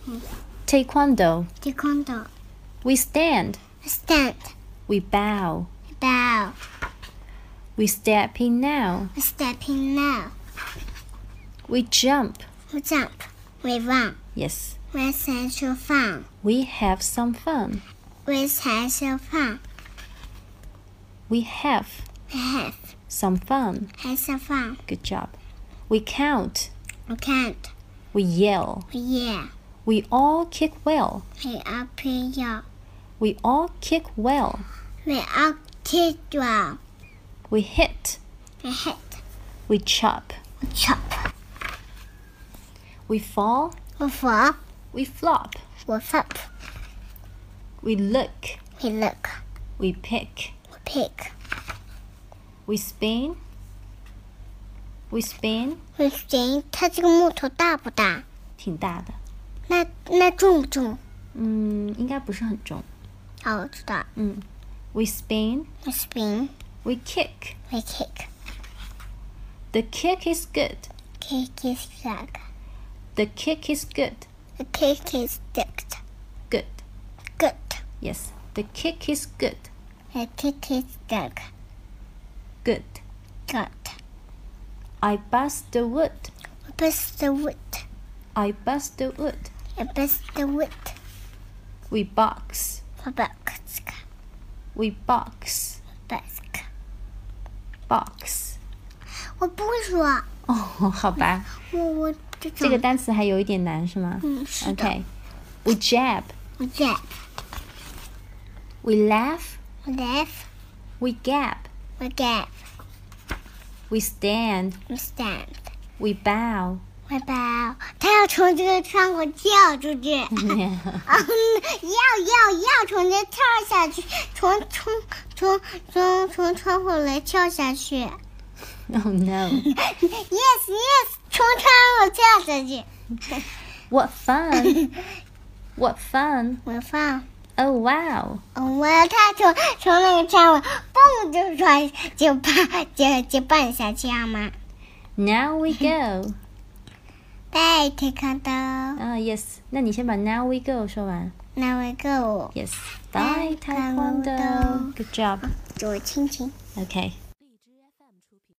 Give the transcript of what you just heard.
Taekwondo. Taekwondo. We stand. Stand. We bow. Bow. We step in now. Stepping now. We jump. We jump. We run. Yes. We have fun. We have some fun. We have fun. We have We have some fun. some fun. Good job. We count. We can't. We yell. We yell. We all kick well. We all play well. We all kick well. We all kick well. We hit. We hit. We chop. We chop. We fall. We fall. We flop. We flop. We look. We look. We pick. We pick. We spin. We spin. We spin. 它这个木头大不大？ 挺大的。 那重不重？ 应该不是很重。 哦，我知道。 We spin. We spin. We kick. We kick. The kick is good. Kick is good. The kick is good. The kick is good. Good. Good. Yes. The kick is good. The kick is good. Good. Good. I bust the wood. We bust the wood. I bust the wood. We bust the wood. We box. We box. We box. Box. Box. 我不会说。 哦，好吧。 我这个单词还有一点难是吗？ 是的。 Okay. We jab. We jab. We laugh. We laugh. We gap. We gap. We stand. We stand. We bow. We bow. 他要从这个窗户跳出去。要从这跳下去，从窗户来跳下去。 Oh no. Yes, 从窗户跳下去。 What fun. What fun. 我放。 Oh wow. 他从那个窗户蹦就摔就蹦下去好吗 Now we go. Bye, Taekwondo. Yes. 那你先把 Now we go 说完。 Now we go. Yes. Bye, Taekwondo. Good job. 给我亲亲。 Okay.